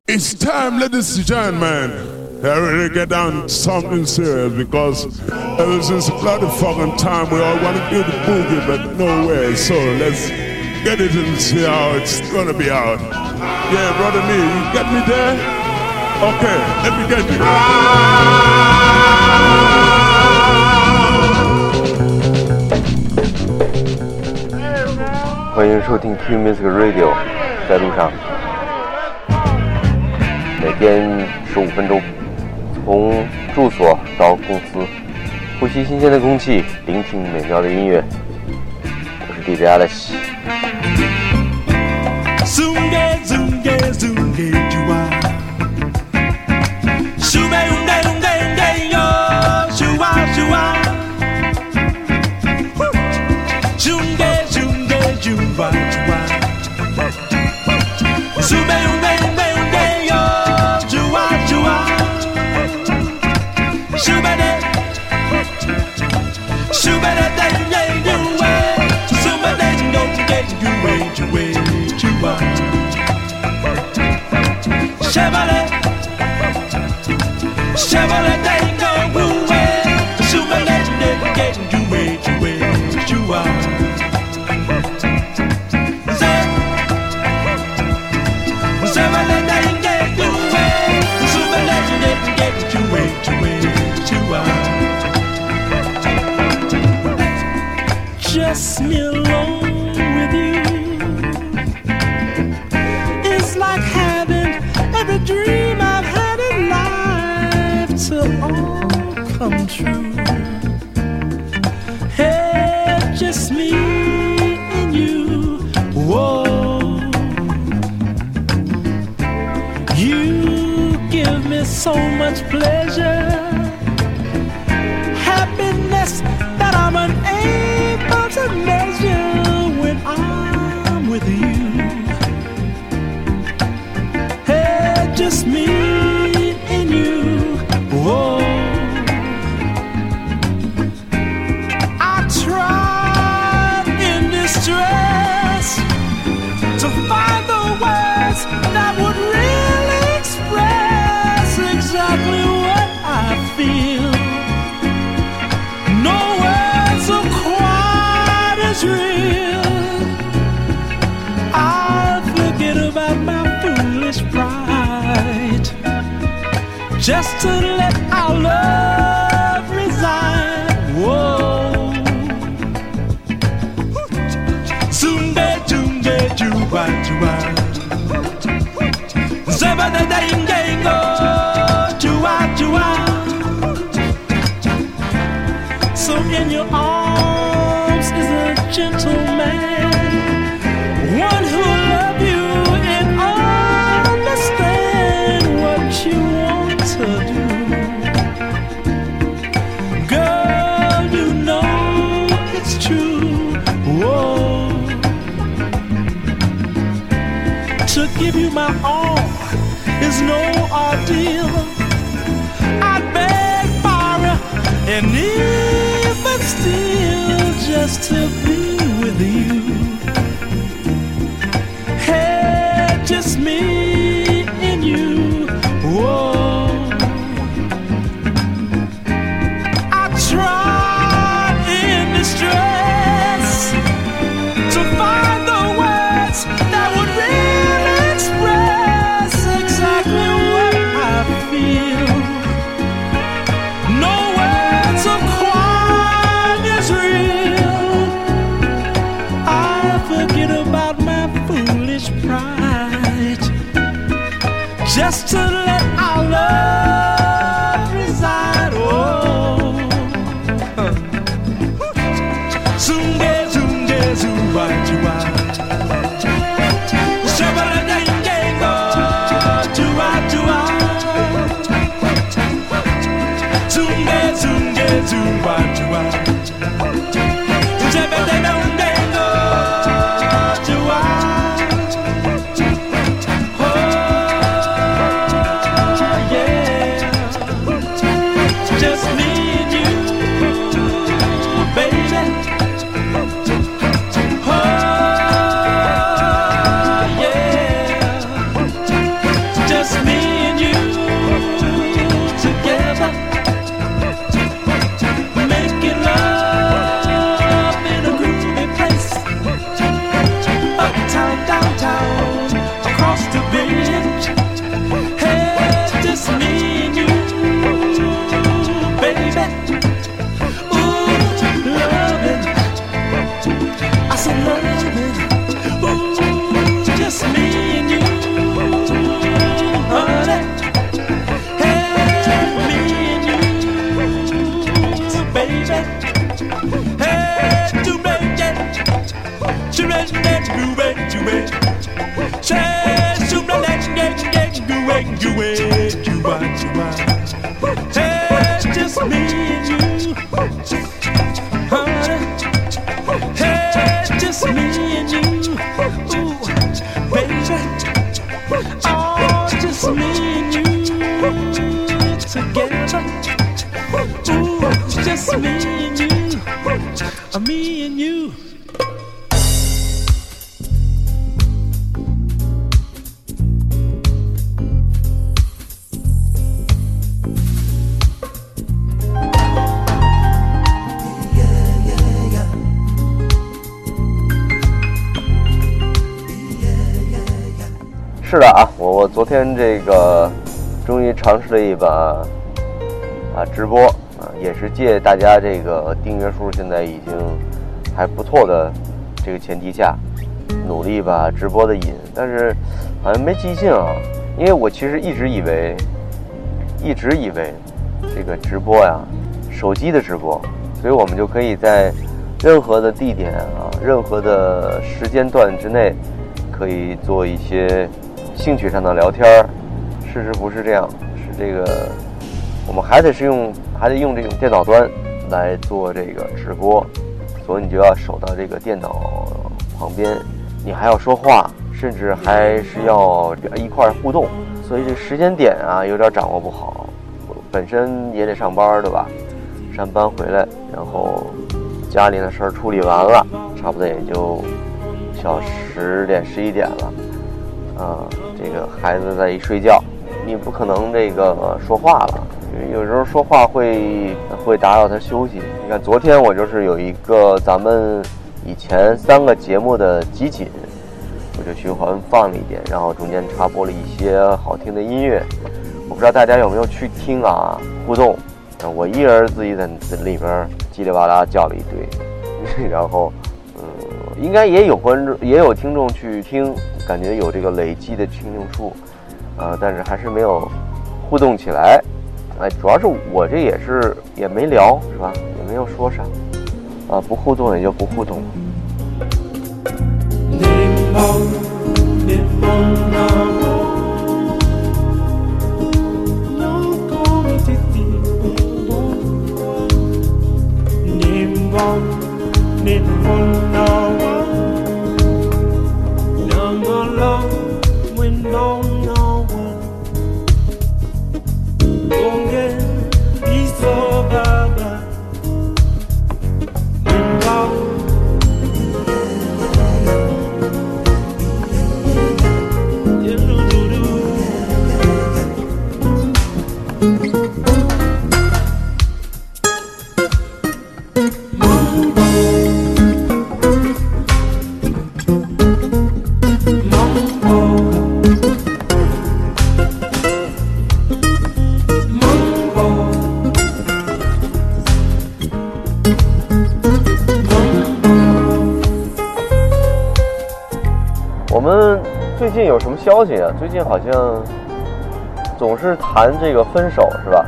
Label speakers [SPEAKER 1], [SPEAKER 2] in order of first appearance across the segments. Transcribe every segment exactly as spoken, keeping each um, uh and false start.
[SPEAKER 1] It's time, ladies and gentlemen, I really get down to something serious because ever since the bloody fucking time we all want to do the boogie, but no way. So let's get it and see how it's gonna be out. Yeah, brother me, you get me there? Okay, let me get you.
[SPEAKER 2] 欢迎收听 Q Music Radio， 在路上。每天十五分钟，从住所到公司，呼吸新鲜的空气，聆听美妙的音乐。我是 D J Alex。
[SPEAKER 3] Chevrolet, Chevrolet, they ain't gon' rule it. Chevrolet, they getting you way, you way, you are. Chevrolet, they ain't getting you way. Chevrolet, they getting you way, you way, you are. Just me alone with you. It's like having every dream I've had in life to all come true. Hey, just me and you. Whoa, you give me so much pleasure, happiness that I'm unable to measure when I'm with you. Just me and you. Whoa, I tried in distress to find the words that would really express exactly what I feel. No words are quite as real. I'll forget about my foolish pride, just to let our love reside. Whoa, Zumba, Zumba, Juba, Juba, Zaba, the Dang, Dango, Juba, Juba. So in your arms is a gentleman, one who love you and understand what you want to do. Girl, you know it's true. Whoa, to give you my all is no ordeal. I beg, borrow, and even steal just to be with you. Hey, just me and you. Whoa, I tried in distress to find the words that would really express exactly what I feel. No words are quite as real. I forget about my foolish pride, just to let our love reside. Oh, Zunge, Zunge, Zuba, Juba, Shabba, Dango, Juba, Juba, Zunge, Zunge, Zuba, Juba, Shabba, Dango, Juba. Oh, yeah. Make you wait, you watch, you watch. Hey, just me and you, honey. Hey, just me and you, ooh, baby. Oh, just me and you together. Ooh, just me and you, uh, me and you.
[SPEAKER 2] 是的啊，我我昨天这个终于尝试了一把啊直播啊，也是借大家这个订阅数现在已经还不错的这个前提下，努力把直播的瘾，但是好像没记性啊，因为我其实一直以为，一直以为这个直播呀，手机的直播，所以我们就可以在任何的地点啊，任何的时间段之内，可以做一些兴趣上的聊天儿。事实不是这样，是这个我们还得是用还得用这种电脑端来做这个直播，所以你就要守到这个电脑旁边，你还要说话，甚至还是要一块互动，所以这时间点啊有点掌握不好。本身也得上班，对吧？上班回来，然后家里的事儿处理完了，差不多也就小十点十一点了。啊，这个孩子在一睡觉，你不可能这个说话了，因为有时候说话会会打扰他休息。你看昨天我就是有一个咱们以前三个节目的集锦，我就循环放了一点，然后中间插播了一些好听的音乐。我不知道大家有没有去听啊？互动，我一人自己在里边叽里哇啦叫了一堆，然后嗯，应该也有观众也有听众去听。感觉有这个累积的听众数，呃，但是还是没有互动起来，哎，主要是我这也是也没聊，是吧？也没有说啥，啊，不互动也就不互动。我们最近有什么消息啊？最近好像总是谈这个分手，是吧？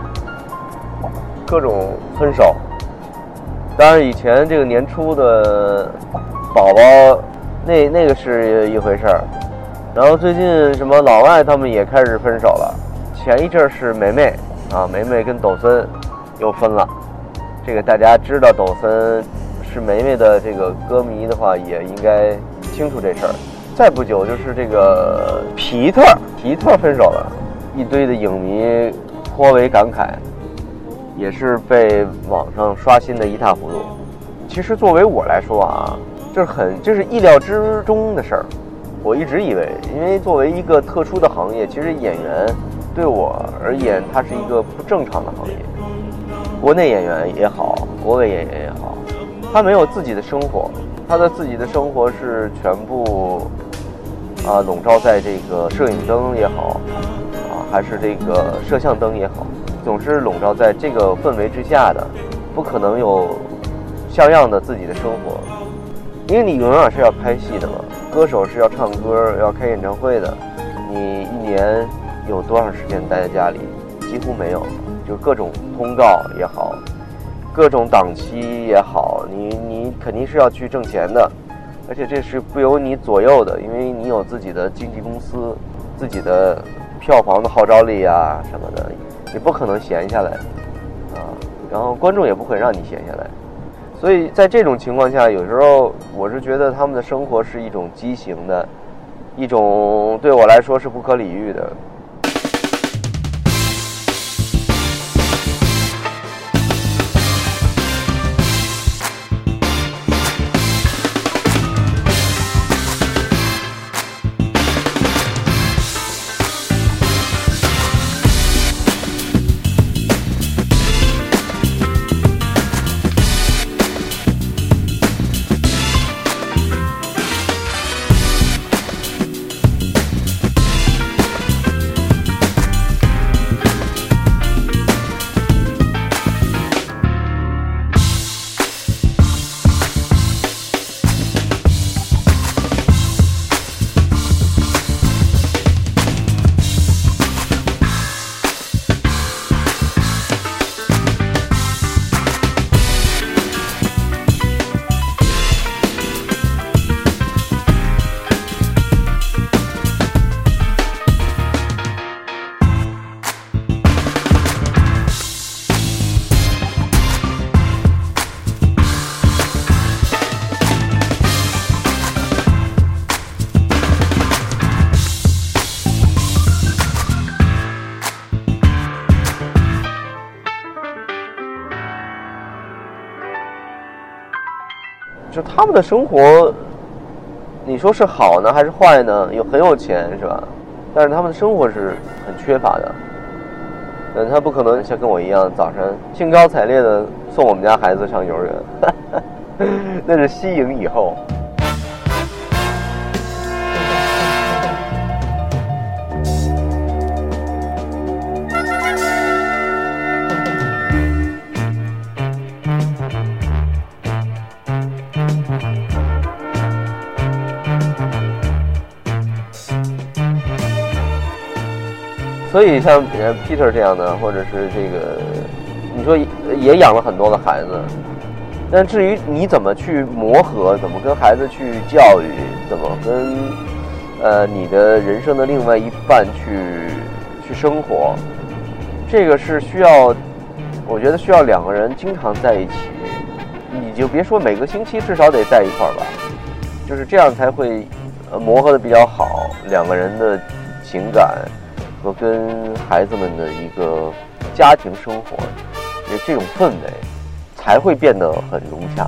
[SPEAKER 2] 各种分手。当然，以前这个年初的宝宝，那那个是一回事儿。然后最近什么老外他们也开始分手了。前一阵是梅梅啊，梅梅跟抖森又分了。这个大家知道抖森是梅梅的这个歌迷的话，也应该清楚这事儿。再不久就是这个皮特，皮特分手了，一堆的影迷颇为感慨，也是被网上刷新的一塌糊涂。其实作为我来说啊，就是很这是意料之中的事儿。我一直以为，因为作为一个特殊的行业，其实演员对我而言，它是一个不正常的行业。国内演员也好，国外演员也好，他没有自己的生活，他的自己的生活是全部啊笼罩在这个摄影灯也好啊，还是这个摄像灯也好，总是笼罩在这个氛围之下的，不可能有像样的自己的生活，因为你永远是要拍戏的嘛，歌手是要唱歌要开演唱会的，你一年有多长时间待在家里？几乎没有，就各种通告也好，各种档期也好，你你肯定是要去挣钱的，而且这是不由你左右的，因为你有自己的经纪公司，自己的票房的号召力啊什么的，你不可能闲下来啊，然后观众也不会让你闲下来。所以在这种情况下，有时候我是觉得他们的生活是一种畸形的，一种对我来说是不可理喻的。就他们的生活，你说是好呢还是坏呢？有很有钱是吧？但是他们的生活是很缺乏的。嗯，他不可能像跟我一样早上兴高采烈的送我们家孩子上幼儿园，那是息营以后。所以像 Peter 这样的，或者是这个，你说也养了很多个孩子，但至于你怎么去磨合，怎么跟孩子去教育，怎么跟呃你的人生的另外一半去去生活，这个是需要，我觉得需要两个人经常在一起，你就别说每个星期至少得在一块儿吧，就是这样才会呃磨合的比较好，两个人的情感和跟孩子们的一个家庭生活，这种氛围才会变得很融洽。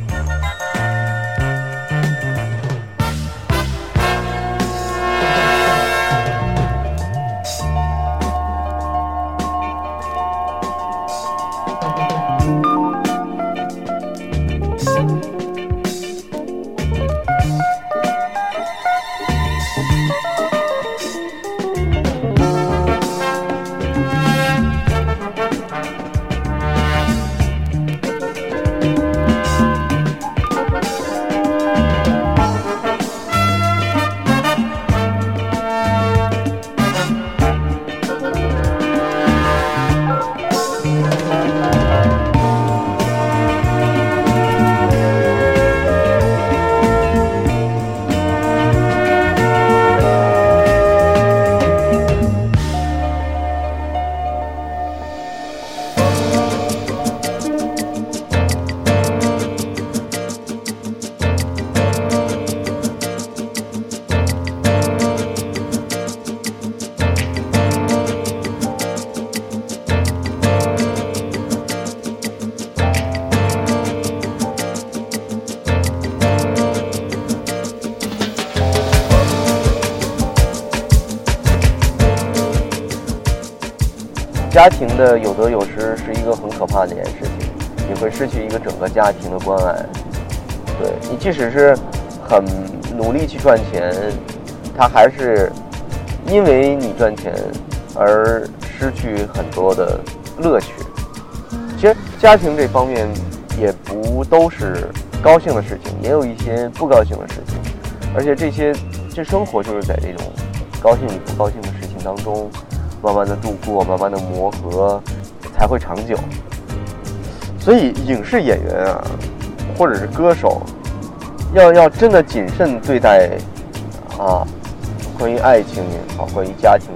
[SPEAKER 2] 家庭的有得有失是一个很可怕的一件事情，你会失去一个整个家庭的关爱。对，你即使是很努力去赚钱，他还是因为你赚钱而失去很多的乐趣。其实家庭这方面也不都是高兴的事情，也有一些不高兴的事情，而且这些这生活就是在这种高兴与不高兴的事情当中慢慢的度过，慢慢的磨合，才会长久。所以影视演员啊，或者是歌手，要要真的谨慎对待啊，关于爱情也好，关于家庭也好，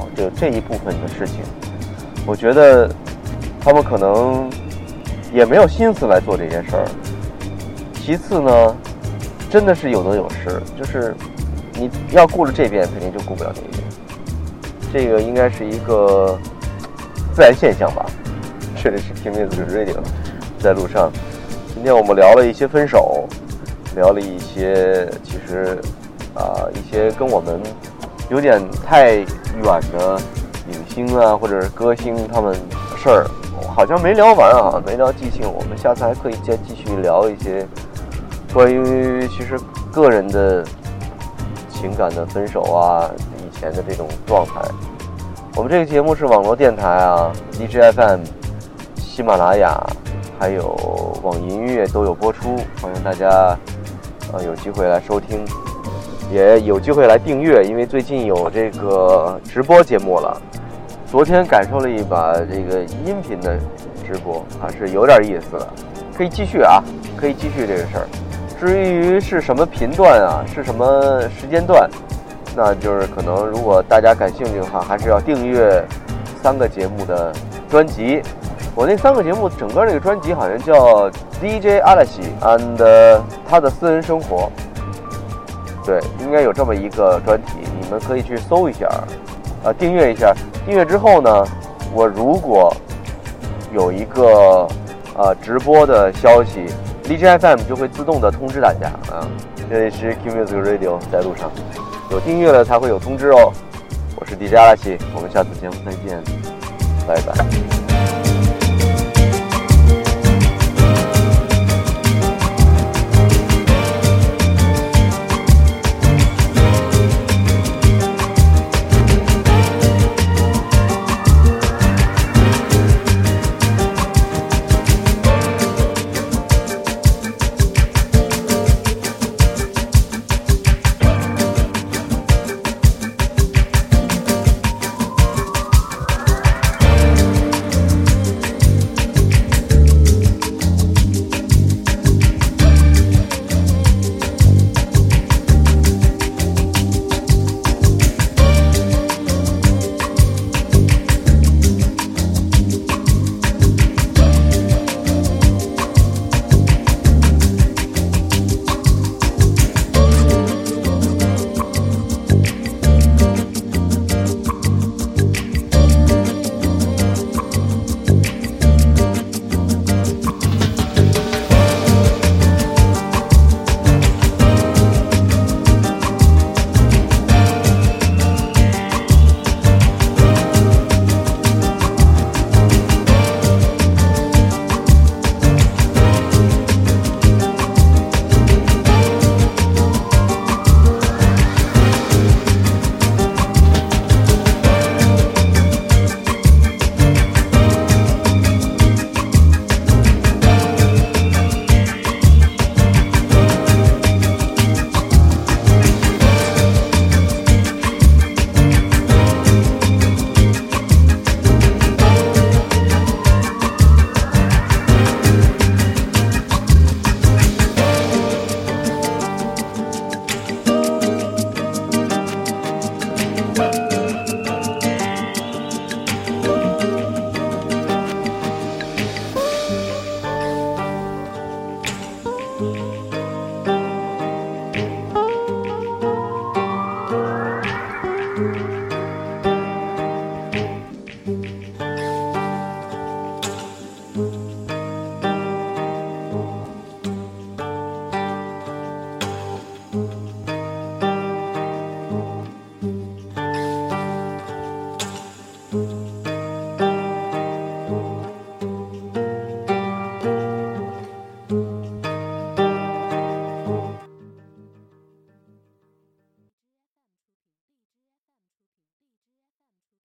[SPEAKER 2] 好这这一部分的事情。我觉得他们可能也没有心思来做这件事儿。其次呢，真的是有得有失，就是你要顾了这边，肯定就顾不了那边。这个应该是一个自然现象吧。这里是 King Music Radio， 在路上。今天我们聊了一些分手，聊了一些其实啊、呃、一些跟我们有点太远的影星啊或者是歌星他们事儿，好像没聊完啊，没聊尽兴。我们下次还可以再继续聊一些关于其实个人的情感的分手啊，以前的这种状态。我们这个节目是网络电台啊 ，D J F M、喜马拉雅还有网易音乐都有播出，欢迎大家呃有机会来收听，也有机会来订阅，因为最近有这个直播节目了。昨天感受了一把这个音频的直播，还是有点意思的，可以继续啊，可以继续这个事儿。至于是什么频段啊，是什么时间段，那就是可能如果大家感兴趣的话，还是要订阅三个节目的专辑。我那三个节目整个这个专辑好像叫 D J 阿拉西 and 他的私人生活，对，应该有这么一个专题，你们可以去搜一下，呃，订阅一下。订阅之后呢，我如果有一个呃直播的消息 ，D J F M 就会自动的通知大家啊。这里是 King Music Radio， 在路上，有订阅了才会有通知哦。我是 D J 阿拉西，我们下次节目再见，拜拜。
[SPEAKER 3] Thank you.